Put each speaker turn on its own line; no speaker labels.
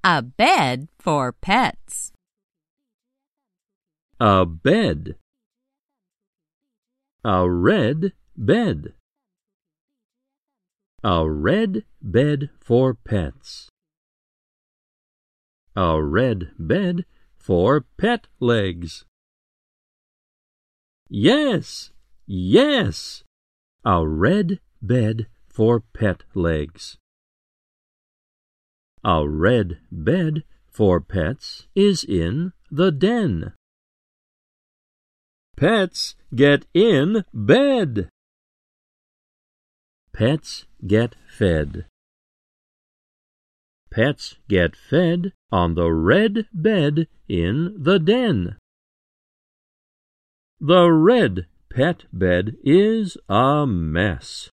A bed for pets.
A bed. A red bed. A red bed for pets. A red bed for pet legs. Yes, yes, a red bed for pet legs. A red bed for pets is in the den. Pets get in bed. Pets get fed. Pets get fed on the red bed in the den. The red pet bed is a mess.